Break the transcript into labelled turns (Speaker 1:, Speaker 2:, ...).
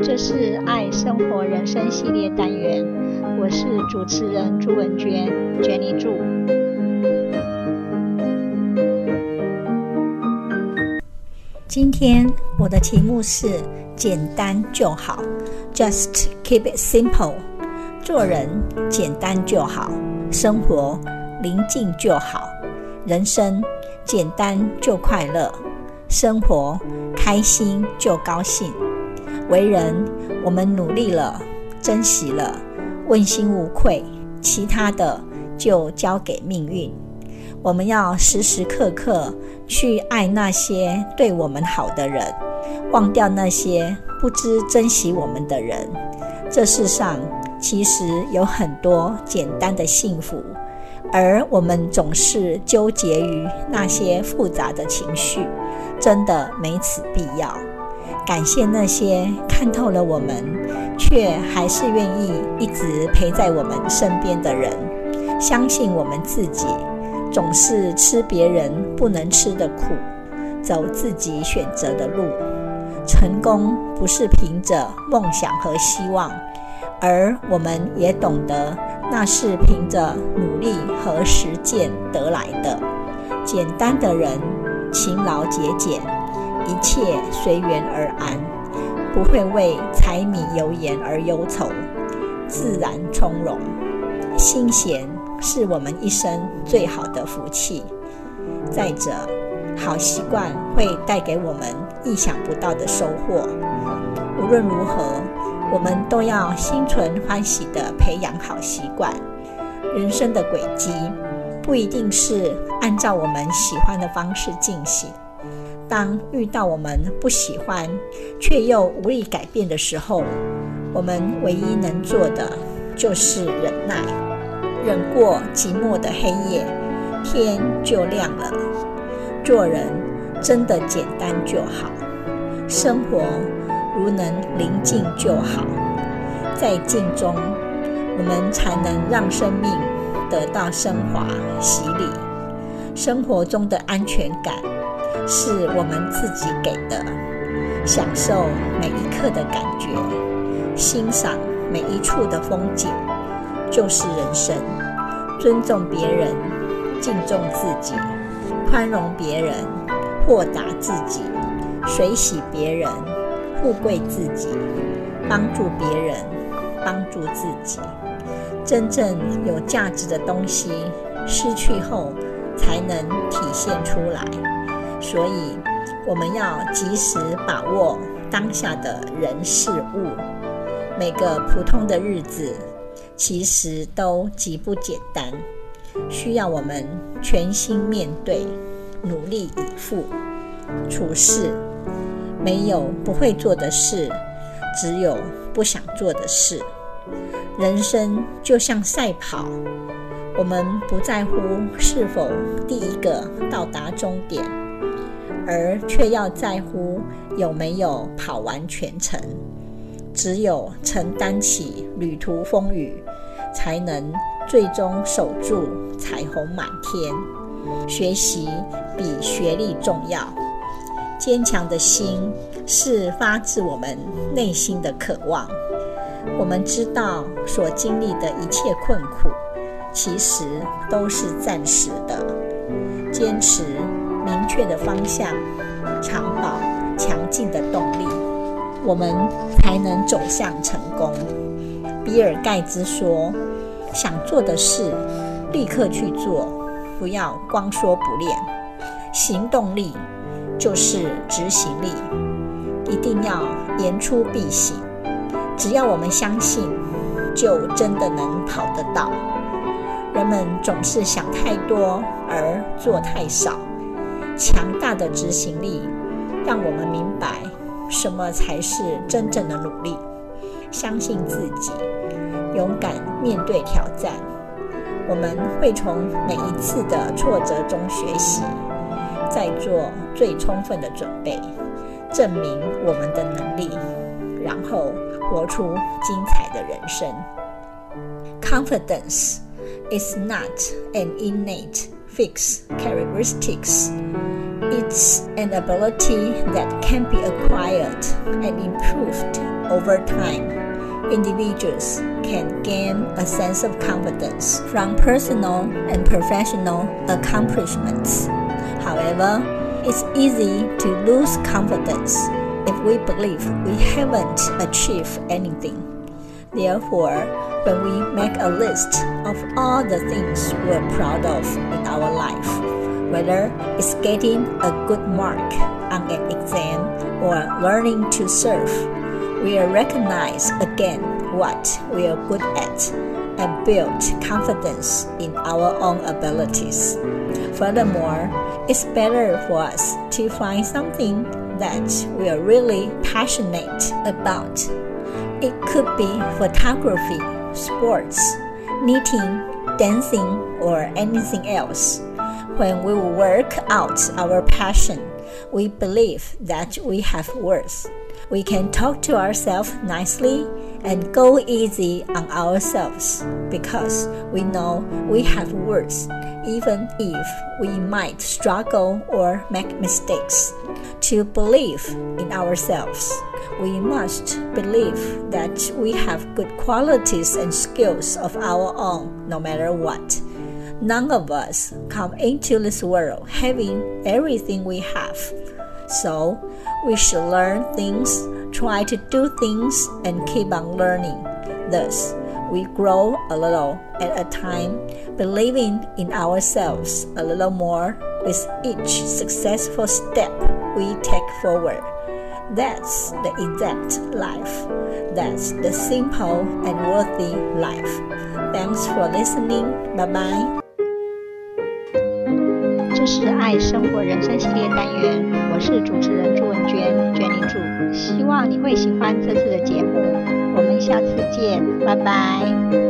Speaker 1: 這是愛生活人生系列單元，我是主持人朱文娟 Jenny 朱。今天我的題目是簡單就好 Just keep it simple。 做人簡單就好，生活寧靜就好，人生簡單就快樂，生活開心就高興。為人我們努力了，珍惜了，問心無愧，其他的就交給命運。我們要時時刻刻去愛那些對我們好的人，忘掉那些不知珍惜我們的人。這世上其實有很多簡單的幸福，而我們總是糾結於那些複雜的情緒，真的沒此必要。感謝那些看透了我們，卻還是願意一直陪在我們身邊的人。相信我們自己，總是吃別人不能吃的苦，走自己選擇的路。成功不是憑着夢想和希望，而我們也懂得那是憑着努力和實踐得來的。簡單的人，勤勞節儉，一切隨緣而安，不會為柴米油鹽而憂愁，自然從容。心閒是我們一生最好的福氣。再者，好習慣會帶給我們意想不到的收穫。無論如何，我們都要心存歡喜地培養好習慣。人生的軌跡不一定是按照我們喜歡的方式進行。當遇到我們不喜歡卻又無力改變的時候，我們唯一能做的就是忍耐，忍過寂寞的黑夜，天就亮了。做人真的簡單就好，生活如能寧靜就好。在靜中，我們才能讓生命得到升華洗禮。生活中的安全感是我們自己給的，享受每一刻的感覺，欣賞每一處的風景，就是人生。尊重別人，敬重自己，寬容別人，豁達自己，隨喜別人，富貴自己，幫助別人，幫助自己。真正有價值的東西，失去後才能體現出來。所以我們要及時把握當下的人事物。每個普通的日子其實都極不簡單，需要我們全心面對，努力以赴。處事沒有不會做的事，只有不想做的事。人生就像賽跑，我們不在乎是否第一個到達終點，而卻要在乎有沒有跑完全程。只有承擔起旅途風雨，才能最終守住彩虹滿天。學習比學歷重要，堅強的心是發自我們內心的渴望。我們知道所經歷的一切困苦，其實都是暫時的。堅持明確的方向，常保強勁的動力，我們才能走向成功。比爾蓋茨說，想做的事立刻去做，不要光說不練。行動力就是執行力，一定要言出必行。只要我們相信，就真的能跑得到。人們總是想太多而做太少，強大的執行力讓我們明白什麼才是真正的努力。相信自己，勇敢面对挑戰。我們會從每一次的挫折中學習，再做最充分的準備，證明我們的能力，然後活出精彩的人生。Confidence is not an innate fixed characteristics. It's an ability that can be acquired and improved over time. Individuals can gain a sense of confidence from personal and professional accomplishments. However, it's easy to lose confidence if we believe we haven't achieved anything. Therefore, when we make a list of all the things we're proud of in our life, whether it's getting a good mark on an exam or learning to surf, we'll recognize again what we are good at and build confidence in our own abilities. Furthermore, it's better for us to find something that we are really passionate about. It could be photography, sports, knitting, dancing, or anything else. When we work out our passion, we believe that we have worth. We can talk to ourselves nicely and go easy on ourselves because we know we have worth, even if we might struggle or make mistakes. To believe in ourselves, we must believe that we have good qualities and skills of our own, no matter what. None of us come into this world having everything we have. So, we should learn things, try to do things, and keep on learning. Thus, we grow a little at a time, believing in ourselves a little more with each successful step we take forward. That's the exact life. That's the simple and worthy life. Thanks for listening. Bye-bye.
Speaker 2: 這是愛生活人生系列單元，我是主持人朱文娟，娟領主，希望你會喜歡這次的節目，我們下次見，拜拜。